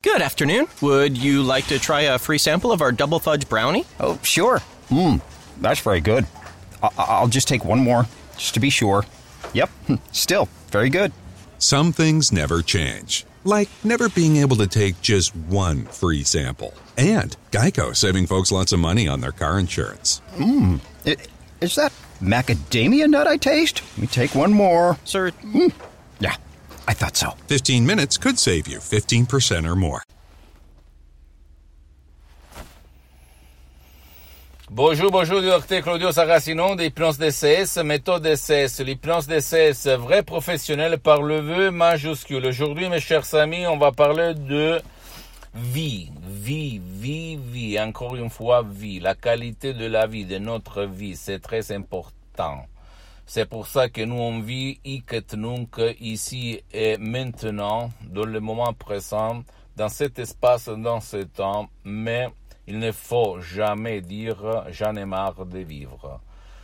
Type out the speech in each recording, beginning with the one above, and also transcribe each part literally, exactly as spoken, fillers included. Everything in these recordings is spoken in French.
Good afternoon. Would you like to try a free sample of our double fudge brownie? Oh, sure. Mmm, that's very good. I- I'll just take one more, just to be sure. Yep, still very good. Some things never change, like never being able to take just one free sample. And Geico saving folks lots of money on their car insurance. Mmm, is that macadamia nut I taste? Let me take one more. Sir? Mm. Yeah, I thought so. fifteen minutes could save you fifteen percent or more. Bonjour, bonjour du docteur Claudio Saracino d'Hypnose D C S, méthode D C S, l'hypnose D C S, vrai professionnel par le vœu majuscule. Aujourd'hui, mes chers amis, on va parler de vie, vie, vie, vie, encore une fois, vie, la qualité de la vie, de notre vie, c'est très important. C'est pour ça que nous on vit hic et nunc, ici et maintenant, dans le moment présent, dans cet espace, dans ce temps, mais il ne faut jamais dire « j'en ai marre de vivre ».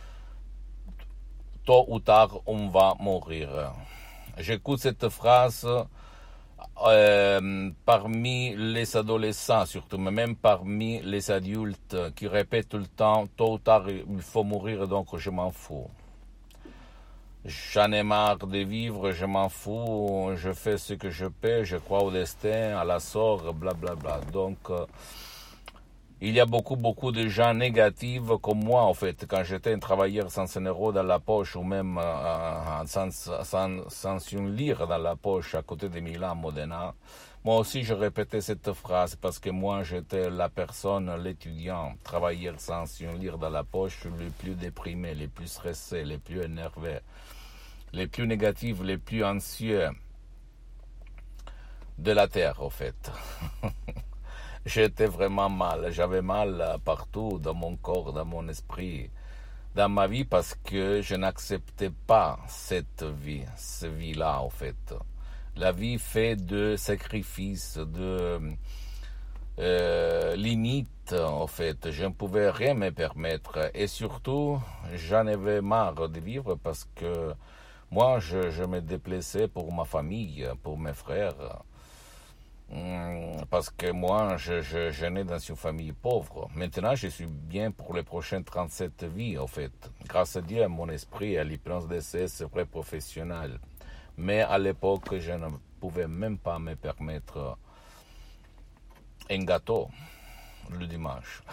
Tôt ou tard, on va mourir. J'écoute cette phrase euh, parmi les adolescents, surtout, mais même parmi les adultes qui répètent tout le temps « tôt ou tard, il faut mourir, donc je m'en fous ». J'en ai marre de vivre, je m'en fous, je fais ce que je peux, je crois au destin, à la sort, blablabla. Bla bla. Donc, euh, il y a beaucoup, beaucoup de gens négatifs comme moi, en fait. Quand j'étais un travailleur sans un euro dans la poche ou même euh, sans, sans, sans une lire dans la poche à côté de Milan, Modena, moi aussi je répétais cette phrase parce que moi j'étais la personne, l'étudiant, travailleur sans une lire dans la poche, le plus déprimé, le plus stressé, le plus énervé, les plus négatifs, les plus anxieux de la Terre, en fait. J'étais vraiment mal, j'avais mal partout dans mon corps, dans mon esprit, dans ma vie parce que je n'acceptais pas cette vie, cette vie-là en fait. La vie fait de sacrifices, de euh, limites en fait. Je ne pouvais rien me permettre et surtout j'en avais marre de vivre parce que moi je, je me déplaçais pour ma famille, pour mes frères. Parce que moi, je, je, je nais dans une famille pauvre. Maintenant, je suis bien pour les prochaines trente-sept vies, en fait. Grâce à Dieu, à mon esprit, à l'hypnose D C S, c'est vrai professionnel. Mais à l'époque, je ne pouvais même pas me permettre un gâteau le dimanche.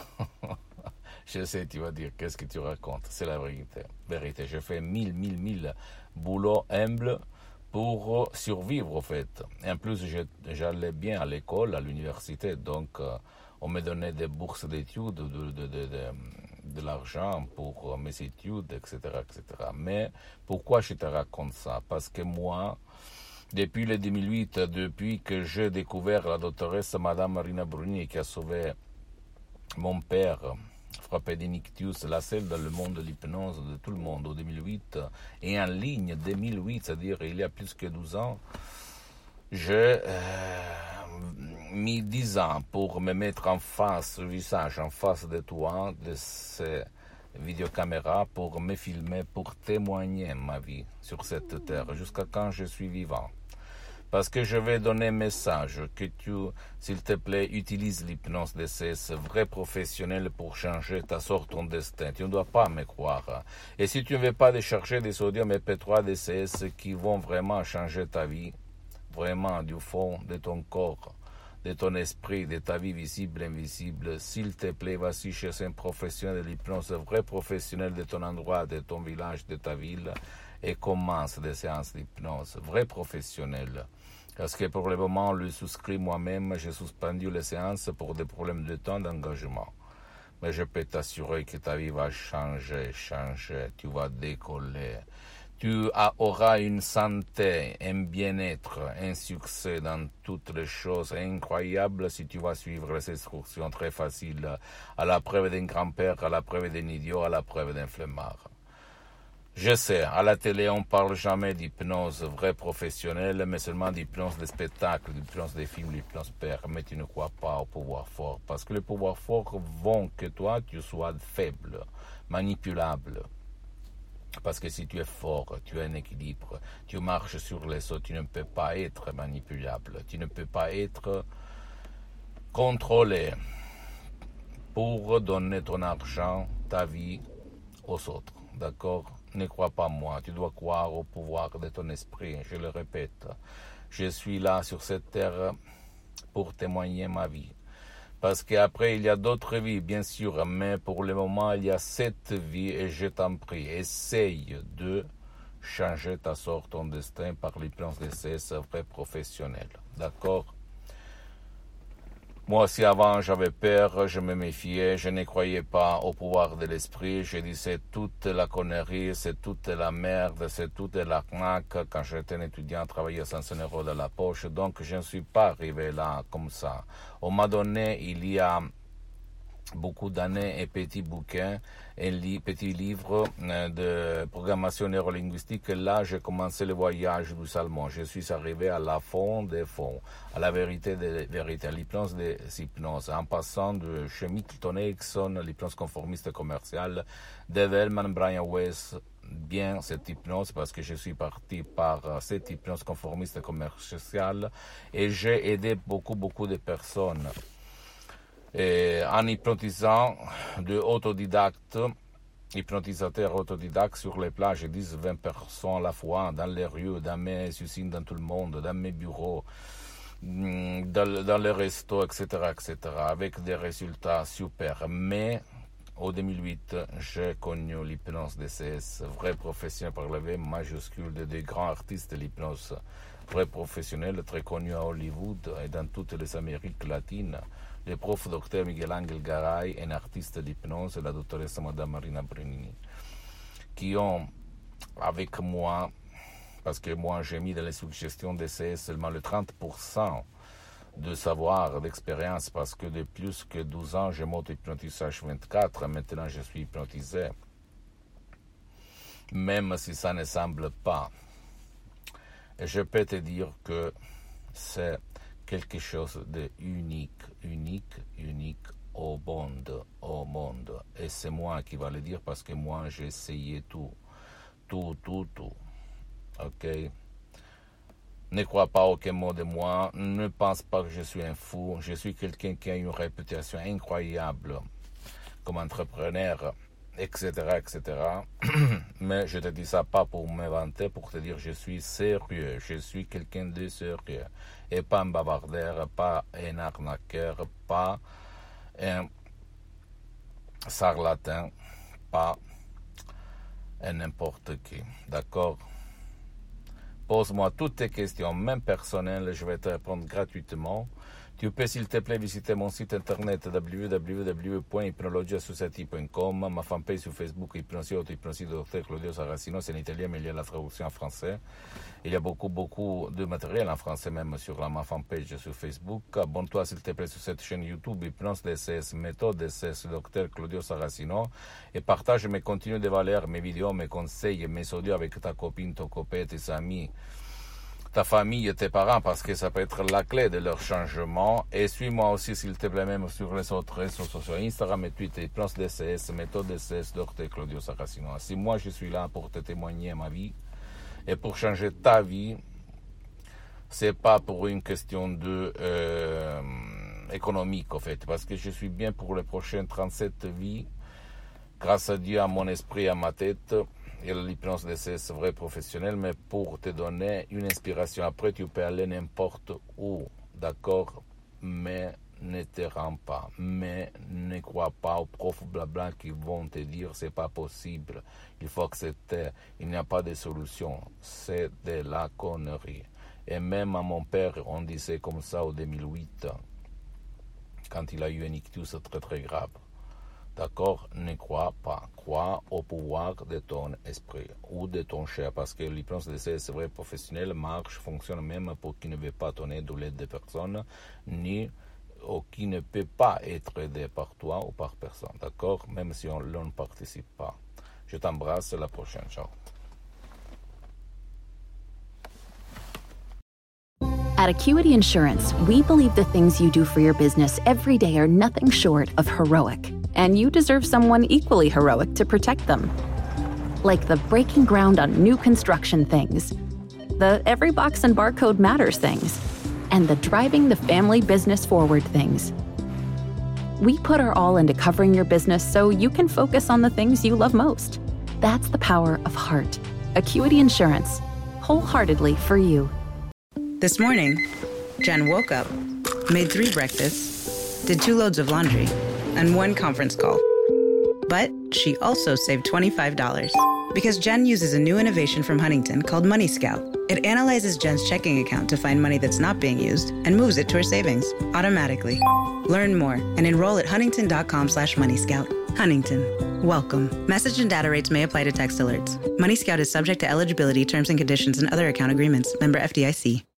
Je sais, tu vas dire, qu'est-ce que tu racontes? C'est la vérité. Vérité. Je fais mille, mille, mille boulots humbles pour survivre, en fait. Et en plus, j'allais bien à l'école, à l'université, donc euh, on me donnait des bourses d'études, de, de, de, de, de l'argent pour mes études, et cetera, et cetera. Mais pourquoi je te raconte ça? Parce que moi, depuis le deux mille huit, depuis que j'ai découvert la doctoresse Madame Marina Bruni qui a sauvé mon père, frappé d'ictus, la seule dans le monde de l'hypnose de tout le monde, en deux mille huit, et en ligne deux mille huit, c'est-à-dire il y a plus que douze ans, j'ai euh, mis dix ans pour me mettre en face, le visage en face de toi, de ces vidéocaméras, pour me filmer, pour témoigner ma vie sur cette terre, jusqu'à quand je suis vivant. Parce que je vais donner un message, que tu, s'il te plaît, utilises l'hypnose D C S, vrai professionnel pour changer ta sorte, ton destin. Tu ne dois pas me croire. Et si tu ne veux pas décharger des sodium M P trois D C S qui vont vraiment changer ta vie, vraiment du fond de ton corps, de ton esprit, de ta vie visible, invisible, s'il te plaît, vas-y chez un professionnel de l'hypnose, vrai professionnel de ton endroit, de ton village, de ta ville, et commence des séances d'hypnose, vrai professionnel. Parce que pour le moment, le souscrit moi-même, j'ai suspendu les séances pour des problèmes de temps d'engagement. Mais je peux t'assurer que ta vie va changer, changer, tu vas décoller. Tu auras une santé, un bien-être, un succès dans toutes les choses incroyables si tu vas suivre les instructions très faciles, à la preuve d'un grand-père, à la preuve d'un idiot, à la preuve d'un flemmard. Je sais, à la télé, on parle jamais d'hypnose vraie professionnelle, mais seulement d'hypnose de spectacle, d'hypnose des films, d'hypnose père. Mais tu ne crois pas au pouvoir fort, parce que le pouvoir fort vont que toi, tu sois faible, manipulable. Parce que si tu es fort, tu as un équilibre, tu marches sur les eaux, tu ne peux pas être manipulable, tu ne peux pas être contrôler pour donner ton argent, ta vie aux autres. D'accord? Ne crois pas moi, tu dois croire au pouvoir de ton esprit. Je le répète, je suis là sur cette terre pour témoigner ma vie. Parce qu'après, il y a d'autres vies, bien sûr, mais pour le moment, il y a cette vie et je t'en prie, essaye de changer ta sorte, ton destin par l'hypnose D C S vrai professionnel. D'accord? Moi aussi avant, j'avais peur, je me méfiais, je ne croyais pas au pouvoir de l'esprit. Je disais toute la connerie, c'est toute la merde, c'est toute l'arnaque. Quand j'étais un étudiant, travaillais sans un euro dans la poche. Donc, je ne suis pas arrivé là comme ça. On m'a donné, il y a beaucoup d'années, un petit bouquin, un li- petit livre de programmation neurolinguistique. Là, j'ai commencé le voyage du Salmon. Je suis arrivé à la fond des fonds, à la vérité des vérités, à l'hypnose des hypnoses, en passant de chez Milton Erickson, l'hypnose conformiste commerciale, de Wellman, Brian Weiss, bien cette hypnose parce que je suis parti par cette hypnose conformiste commerciale et j'ai aidé beaucoup, beaucoup de personnes. Et en hypnotisant de autodidactes, hypnotisateurs autodidactes sur les plages, dix vingt personnes à la fois, dans les rues, dans mes usines, dans tout le monde, dans mes bureaux, dans, dans les restos, et cetera, et cetera, avec des résultats super. Mais en deux mille huit, j'ai connu l'hypnose D C S, vrai professionnel par le V majuscule de des grands artistes de l'hypnose, vrai professionnel, très connu à Hollywood et dans toutes les Amériques latines. Le prof docteur Miguel Angel Garay, un artiste d'hypnose, et la doctoresse Madame Marina Brenini, qui ont, avec moi, parce que moi j'ai mis dans les suggestions D C S seulement le trente pour cent de savoir, d'expérience, parce que de plus que douze ans, je m'auto-hypnotise H vingt-quatre, maintenant je suis hypnotisé. Même si ça ne semble pas. Et je peux te dire que c'est quelque chose de unique, unique, unique au monde, au monde. Et c'est moi qui va le dire parce que moi j'ai essayé tout, tout, tout, tout. Ok? Ne crois pas aucun mot de moi, ne pense pas que je suis un fou. Je suis quelqu'un qui a une réputation incroyable comme entrepreneur, et cetera, et cetera. Mais je te dis ça pas pour me vanter, pour te dire je suis sérieux, je suis quelqu'un de sérieux. Et pas un bavardeur, pas un arnaqueur, pas un charlatan, pas un n'importe qui. D'accord? Pose-moi toutes tes questions, même personnelles, je vais te répondre gratuitement. Tu peux, s'il te plaît, visiter mon site internet w w w point hypnologie associative point com, ma fanpage sur Facebook, Hypnosie, Auto-Hypnosie de docteur Claudio Saracino, c'est en italien, mais il y a la traduction en français. Il y a beaucoup, beaucoup de matériel en français, même sur la, ma fanpage sur Facebook. Abonne-toi, s'il te plaît, sur cette chaîne YouTube, Hypnose D C S, méthode D C S, docteur Claudio Saracino, et partage mes contenus de valeur, mes vidéos, mes conseils, mes audios avec ta copine, ton copain, tes amis, ta famille et tes parents, parce que ça peut être la clé de leur changement. Et suis-moi aussi, s'il te plaît, même sur les autres réseaux sociaux, Instagram et Twitter, Hypnose D C S, méthode D C S, docteur Claudio Saracino. Si moi, je suis là pour te témoigner ma vie et pour changer ta vie, c'est pas pour une question de euh, économique, en fait, parce que je suis bien pour les prochaines trente-sept vies, grâce à Dieu, à mon esprit, à ma tête. Et l'hypnose D C S vrai professionnel, mais pour te donner une inspiration. Après, tu peux aller n'importe où, d'accord? Mais ne te rends pas. Mais ne crois pas aux profs blabla qui vont te dire c'est pas possible. Il faut accepter. Il n'y a pas de solution. C'est de la connerie. Et même à mon père, on disait comme ça en deux mille huit, quand il a eu un ictus très très grave. D'accord? Ne crois pas. Crois au pouvoir de ton esprit ou de ton chair, parce que l'hypnose D C S vrai professionnel marche, fonctionne même pour qui ne veut pas ton aide ou l'aide de personne, ni ou qui ne peut pas être aidé par toi ou par personne. D'accord? Même si on ne participe pas. Je t'embrasse, à la prochaine. Ciao. At Acuity Insurance, we believe the things you do for your business every day are nothing short of heroic, and you deserve someone equally heroic to protect them. Like the breaking ground on new construction things, the every box and barcode matters things, and the driving the family business forward things. We put our all into covering your business so you can focus on the things you love most. That's the power of heart. Acuity Insurance. Wholeheartedly for you. This morning, Jen woke up, made three breakfasts, did two loads of laundry, and one conference call. But she also saved twenty-five dollars because Jen uses a new innovation from Huntington called Money Scout. It analyzes Jen's checking account to find money that's not being used and moves it to her savings automatically. Learn more and enroll at huntington.com slash Money Scout. Huntington. Welcome. Message and data rates may apply to text alerts. Money Scout is subject to eligibility, terms and conditions, and other account agreements. Member F D I C.